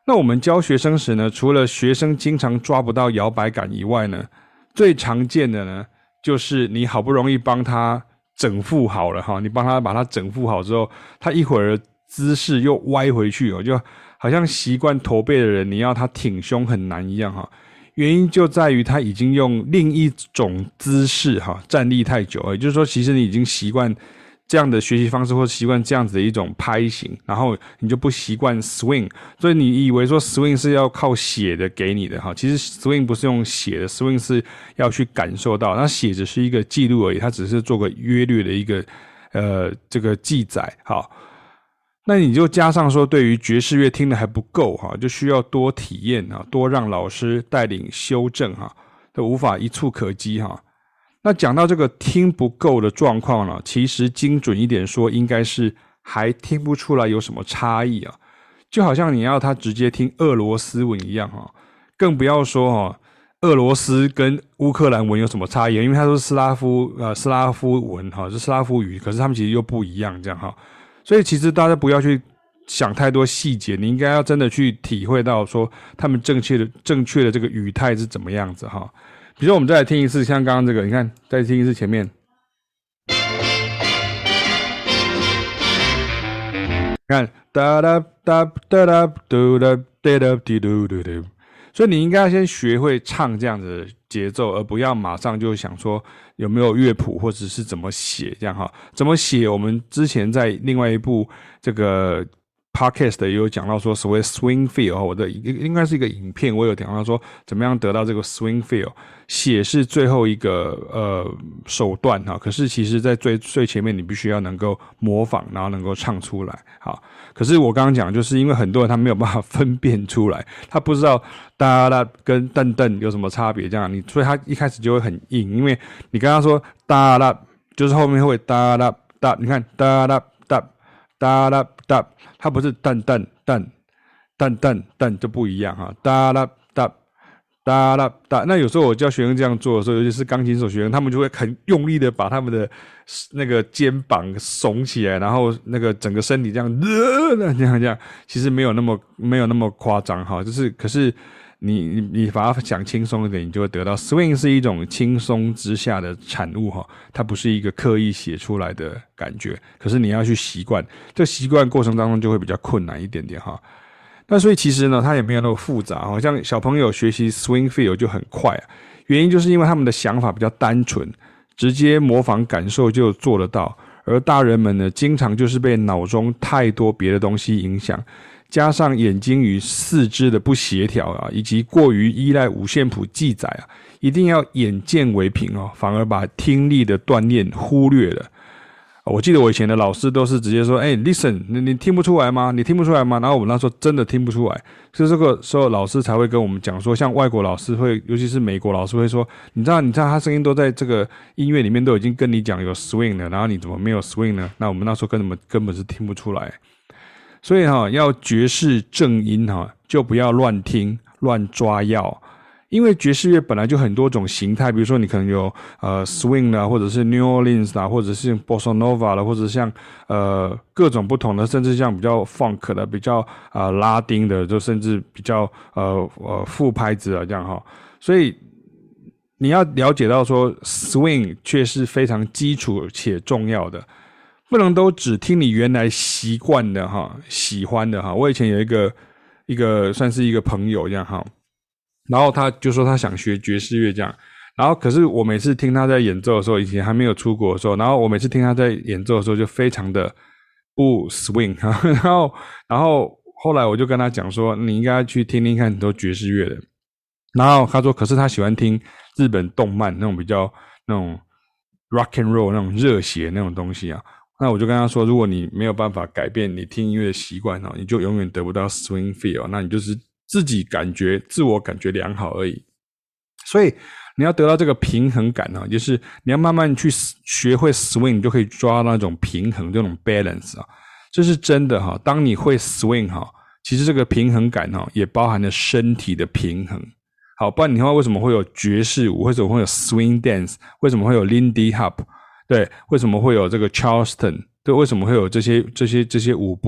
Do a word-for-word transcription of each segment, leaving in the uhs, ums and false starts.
那我們教學生時呢，除了學生經常抓不到搖擺感以外呢，最常見的呢，就是你好不容易幫他整復好了哈，你幫他把他整復好之後，他一會兒姿勢又歪回去哦，就好像習慣駝背的人，你要他挺胸很難一樣哈。原因就在於他已經用另一種姿勢哈站立太久了，也就是說，其實你已經習慣這樣的學習方式，或習慣這樣子的一種拍型，然後你就不習慣 swing， 所以你以為說 swing 是要靠寫的給你的哈，其實 swing 不是用寫的 ，swing 是要去感受到，那寫只是一個記錄而已，它只是做個約略的一個呃這個記載。好，那你就加上說，對於爵士樂聽得還不夠哈，就需要多體驗啊，多讓老師帶領修正哈，都無法一蹴可幾哈。那講到這個聽不夠的狀況呢，其實精準一點說，應該是還聽不出來有什麼差異啊，就好像你要他直接聽俄羅斯文一樣哈，更不要說哈，俄羅斯跟烏克蘭文有什麼差異，因為它都是斯拉夫呃斯拉夫文哈，是斯拉夫語，可是他們其實又不一樣這樣哈，所以其實大家不要去想太多細節，你應該要真的去體會到說他們正確的正確的這個語態是怎麼樣子哈。比如說我們再來聽一次，像剛剛這個，你看，再聽一次前面，看噠噠噠噠噠嘟噠噠噠滴嘟嘟嘟，所以你應該要先學會唱這樣子的節奏，而不要馬上就想說有沒有樂譜或者是怎麼寫這樣哈。怎麼寫？我們之前在另外一部這個 podcast 也有講到說所謂 swing feel， 我的應該是一個影片，我有講到說怎麼樣得到這個 swing feel。寫是最後一個呃手段哈，可是其實在最最前面你必須要能夠模仿，然後能夠唱出來。好，可是我剛剛講就是因為很多人他沒有辦法分辨出來，他不知道噠噠跟噔噔有什麼差別，這樣你所以他一開始就會很硬，因為你跟他說噠噠就是後面會噠噠噠，你看噠噠噠噠噠噠，它不是噔噔噔噔噔噔就不一樣哈，噠噠噠。噠噠噠，那有時候我教學生這樣做的時候，尤其是鋼琴手學生，他們就會很用力的把他們的那個肩膀聳起來，然後那個整個身體這樣，呃、這樣這樣，其實沒有那麼沒有那麼誇張哈，就是可是你你你把它想輕鬆一點，你就會得到 swing 是一種輕鬆之下的產物哈，它不是一個刻意寫出來的感覺，可是你要去習慣，這習慣過程當中就會比較困難一點點哈。那所以其實呢，它也沒有那麼複雜，好像小朋友學習 swing feel 就很快啊。原因就是因為他們的想法比較單純，直接模仿感受就做得到。而大人們呢，經常就是被腦中太多別的東西影響，加上眼睛與四肢的不協調啊，以及過於依賴五線譜記載啊，一定要眼見為憑哦，反而把聽力的鍛鍊忽略了。我記得我以前的老師都是直接說，哎、欸、，listen， 你你聽不出來嗎？你聽不出來嗎？然後我們那時候真的聽不出來，所以這個時候老師才會跟我們講說，像外國老師會，尤其是美國老師會說，你知道，你知道他聲音都在這個音樂裡面都已經跟你講有 swing 了，然後你怎麼沒有 swing 呢？那我們那時候根本根本是聽不出來，所以哈，要爵士正音哈，就不要亂聽亂抓藥。因為爵士樂本來就很多種形態，比如說你可能有呃 swing 啦，或者是 New Orleans 啦，或者是 Bossa Nova 啦，或者像呃各種不同的，甚至像比較 funk 的、比較呃拉丁的，就甚至比較呃呃副拍子啊這樣哈。所以你要了解到說 swing 卻是非常基礎且重要的，不能都只聽你原來習慣的哈、喜歡的哈。我以前有一個一個算是一個朋友這樣哈。然後他就說他想學爵士樂這樣，然後可是我每次聽他在演奏的時候，以前還沒有出國的時候，然後我每次聽他在演奏的時候就非常的不 swing， 然後然後後來我就跟他講說，你應該去聽聽看很多爵士樂的。然後他說，可是他喜歡聽日本動漫那種比較那種 rock and roll 那種熱血那種東西啊。那我就跟他說，如果你沒有辦法改變你聽音樂的習慣哦，你就永遠得不到 swing feel， 那你就是自己感覺自我感覺良好而已，所以你要得到這個平衡感啊，就是你要慢慢去學會 swing， 你就可以抓到那種平衡，這種 balance 啊，這是真的哈。當你會 swing 哈，其實這個平衡感哈也包含了身體的平衡。好，不然你的話為什麼會有爵士舞？為什麼會有 swing dance？ 為什麼會有 Lindy Hop？ 對，為什麼會有這個 Charleston？ 對，為什麼會有這些這些這些舞步？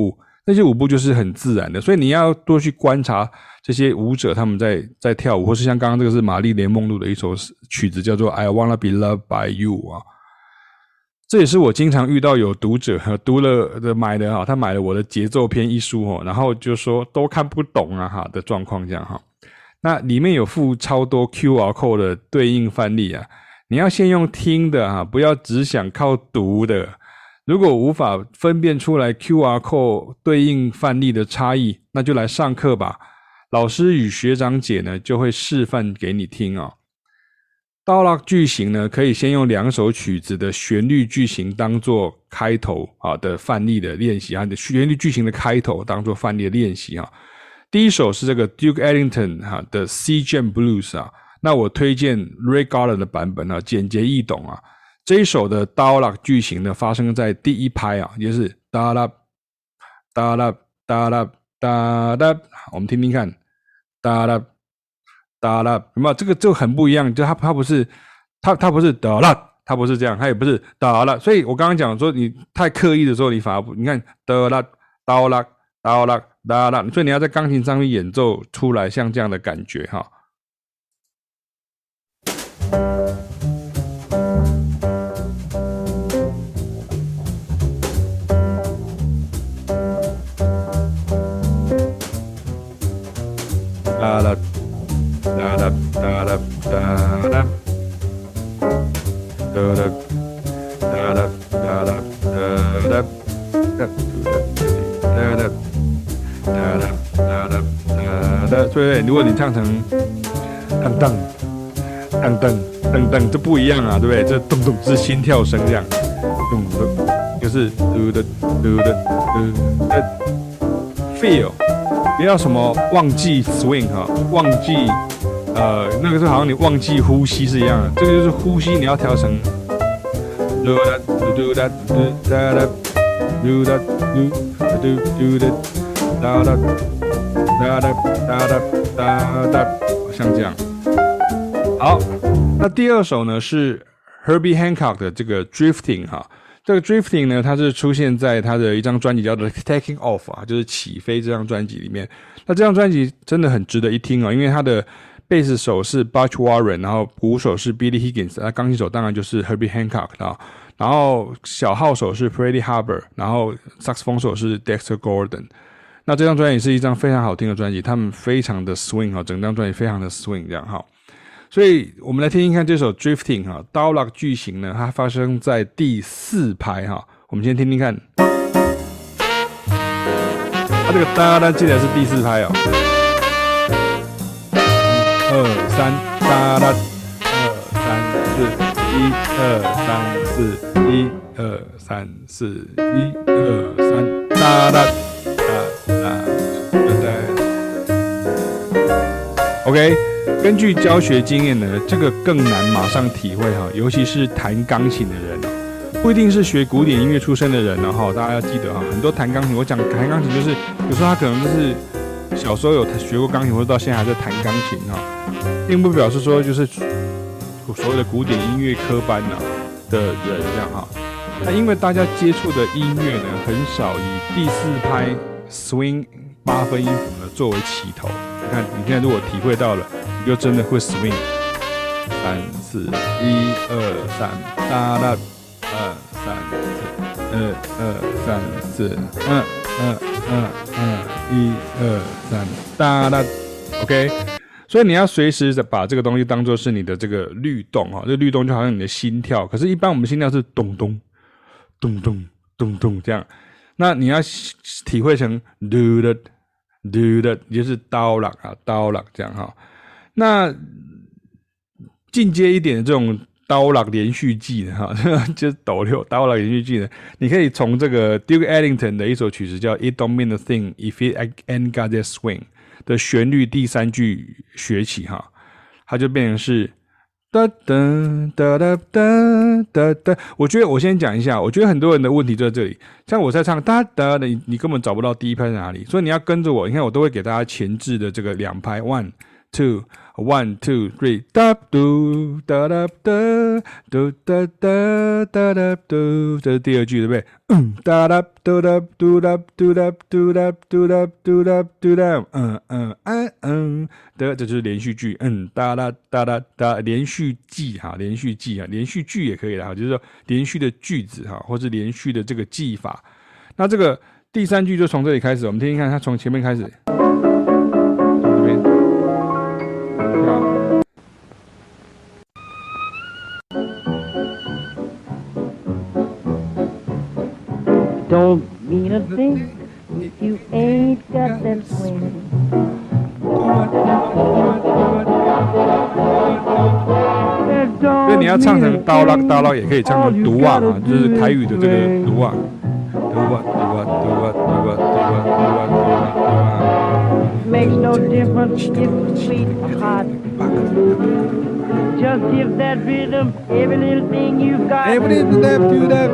那些舞步就是很自然的，所以你要多去觀察這些舞者他們在在跳舞，或是像剛剛這個是瑪麗蓮夢露的一首曲子叫做 I Wanna Be Loved by You 啊，這也是我經常遇到有讀者讀了的買的哈，他買了我的節奏篇一書哦，然後就說都看不懂啊哈的狀況這樣哈。那裡面有附超多 Q R code 的對應範例啊，你要先用聽的哈，不要只想靠讀的。如果無法分辨出來 Q R code 對應範例的差異，那就來上課吧。老師與學長姐呢就會示範給你聽哦。倒落句型呢，可以先用兩首曲子的旋律句型當做開頭啊的範例的練習啊，你的旋律句型的開頭當做範例的練習啊。第一首是這個 Duke Ellington 哈的 C Jam Blues 啊，那我推薦 Ray Garland 的版本啊，簡潔易懂啊。這一首的倒落句型呢，發生在第一拍啊，也就是噠啦噠啦噠啦噠啦，我們聽聽看，噠啦噠啦，有沒有？這個就很不一樣，就它它不是它它不是噠啦，它不是這樣，它也不是噠啦。所以我剛剛講說，你太刻意的時候，你反而不，你看噠啦倒啦倒啦噠啦，所以你要在鋼琴上面演奏出來像這樣的感覺哈。噠啦噠啦噠啦噠啦，噠啦噠啦噠啦噠啦，噠啦噠啦噠啦噠啦，所以如果你唱成噔噔噔噔噔噔，這不一樣啊，對不對？這咚咚是心跳聲這樣，咚咚就是嘟的嘟的嘟的 feel。不要什麼忘記 swing 哈，忘記呃那個時候好像你忘記呼吸是一樣的，這個就是呼吸你要調成嘟噠嘟噠嘟噠噠嘟噠嘟嘟嘟噠噠噠噠噠噠噠噠，像這樣。好，那第二首呢是 Herbie Hancock 的這個 Drifting 哈。這個 Drifting 呢，它是出現在他的一張專輯叫做 Taking Off 啊，就是起飛這張專輯裡面。那這張專輯真的很值得一聽哦，因為他的貝斯手是 Butch Warren， 然後鼓手是 Billy Higgins， 那鋼琴手當然就是 Herbie Hancock 啊，然後小號手是 Freddie Hubbard， 然後薩克斯風手是 Dexter Gordon。那這張專輯是一張非常好聽的專輯，他們非常的 swing 啊，整張專輯非常的 swing 這樣哈。所以我們來聽聽看這首 Drifting 哈，倒落句型呢，它發生在第四拍哈。我們先聽聽看，它這個噠噠記得是第四拍哦。二三噠噠，二三四，一二三四，一二三四，一二三噠噠噠噠噠。OK。根據教學經驗呢，這個更難馬上體會哈，尤其是彈鋼琴的人哦，不一定是學古典音樂出身的人呢哈，大家要記得哈，很多彈鋼琴，我講彈鋼琴就是有時候他可能就是小時候有學過鋼琴，或者到現在還在彈鋼琴哈，並不表示說就是所謂的古典音樂科班呢的人這樣哈。那因為大家接觸的音樂呢，很少以第四拍 swing 八分音符呢作為起頭。你看，你現在如果體會到了，你就真的會 swing。三四一二三，噠噠，二三四，二二三四，二二二二，一二三，噠噠。OK， 所以你要隨時的把這個東西當作是你的這個律動哈，這個律動就好像你的心跳，可是一般我們心跳是咚咚咚咚咚咚這樣，那你要體會成嘟的。嘟的，也就是倒落啊，倒落這樣哈。那進階一點的這種倒落連續技呢，哈，就是抖六倒落連續技呢，你可以從這個 Duke Ellington 的一首曲子叫 It Don't Mean a Thing If It Ain't Got That Swing 的旋律第三句學起哈，它就變成是。噠噠噠噠噠噠噠，我覺得我先講一下，我覺得很多人的問題就在這裡。像我在唱噠噠的，你你根本找不到第一拍在哪裡，所以你要跟着我。你看我都會給大家前置的這個兩拍 one two one two three da嘟da da da嘟da da da da嘟，這是第二句對不對？嗯哒da嘟da嘟da嘟da嘟da嘟da嘟da嘟da，嗯嗯嗯嗯的，這就是連續句。嗯哒啦哒啦哒，連續記哈，連續記哈，連續句也可以啦，就是說連續的句子哈，或是連續的這個記法。那這個第三句就從這裡開始，我們聽聽看，它從前面開始。 Don't mean a thing if you ain't got that swing. 因為你要唱成刀拉刀拉，也可以唱成獨啊啊，就是台語的這個獨啊，獨啊獨啊獨啊獨啊獨啊獨啊獨啊。 Makes no difference if sweet or hot. Just give that rhythm every little thing you've got. Every little step to that.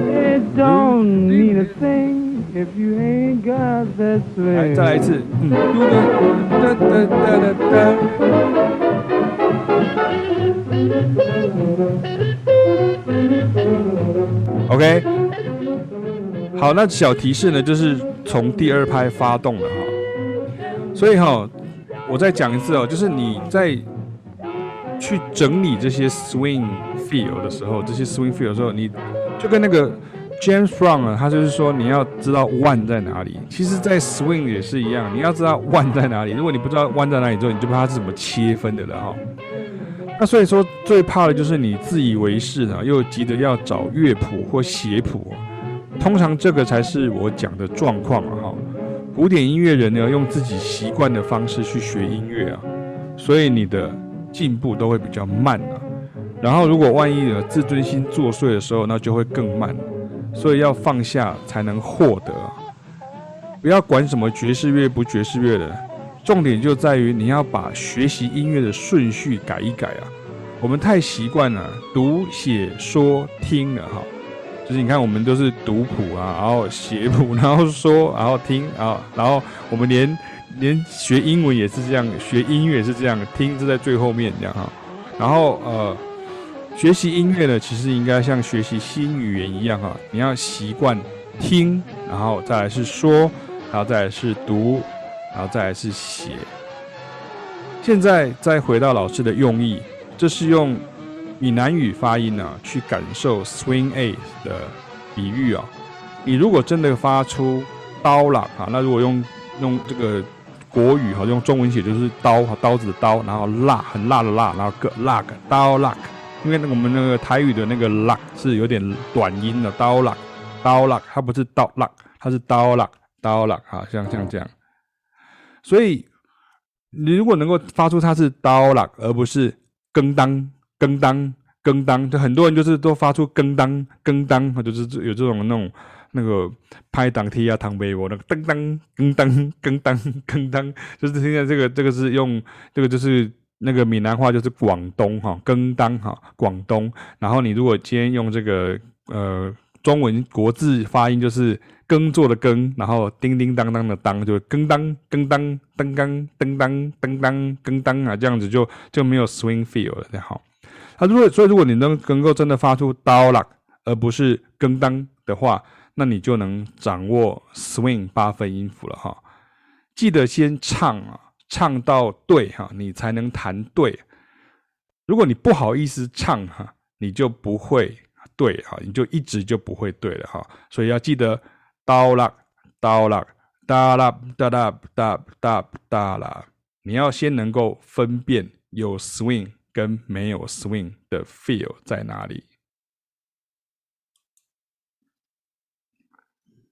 It don't mean a thing if you ain't got that swing. 來，再來一次。嗯，哒哒哒哒哒。OK， 好，那小提示呢，就是從第二拍發動了哈。所以哈，我再講一次哦，就是你在去整理這些 swing feel 的時候，這些 swing feel 的時候，你就跟那個 James Brown 啊，他就是說你要知道 one 在哪裡。其實，在 swing 也是一樣，你要知道 one 在哪裡。如果你不知道 one 在哪裡之後，你就不知道它是怎麼切分的了哈。那所以說，最怕的就是你自以為是啊，又急着要找樂譜或寫譜。通常這個才是我講的狀況啊哈。古典音樂人呢，用自己習慣的方式去學音樂啊，所以你的進步都會比較慢啊。然後如果萬一呢自尊心作祟的時候，那就會更慢。所以要放下才能獲得啊。不要管什麼爵士樂不爵士樂的，重點就在於你要把學習音樂的順序改一改啊。我們太習慣了讀寫說聽了哈。就是你看，我們都是讀譜啊，然後寫譜，然後說，然後聽啊，然後我們連連學英文也是這樣，學音樂也是這樣，聽是在最後面這樣哈。然後呃，學習音樂呢，其實應該像學習新語言一樣哈，你要習慣聽，然後再來是說，然後再來是讀，然後再來是寫。現在再回到老師的用意，這是用閩南語發音啊，去感受 swing eight 的比喻啊。你如果真的發出刀啦啊，那如果用用這個國語哈，用中文寫就是刀刀子的刀，然後辣很辣的辣，然後個辣刀辣，因為我們那個台語的那個辣是有點短音的刀辣刀辣，它不是刀辣，它是刀辣刀辣啊，像像這樣。所以你如果能夠發出它是刀辣，而不是更當。更當更當，就很多人就是都發出更當更當，就是有這種那種那個拍檔踢啊、躺背我那個噔當更當更當更當，就是現在這個這個是用這個就是那個閩南話就是廣東哈更當哈廣東，然後你如果今天用這個呃中文國字發音就是耕作的耕，然後叮叮當當的當，就更當更當噔當噔當噔當更當啊，這樣子就就沒有 swing feel 了，好。啊，如果所以如果你能能夠真的發出刀啦，而不是更當的話，那你就能掌握 swing 八分音符了哈。記得先唱啊，唱到對哈，你才能彈對。如果你不好意思唱哈，你就不會對哈，你就一直就不會對了哈。所以要記得刀啦刀啦噠啦噠啦噠噠噠啦，你要先能夠分辨有 swing跟沒有 swing 的 feel 在哪裡。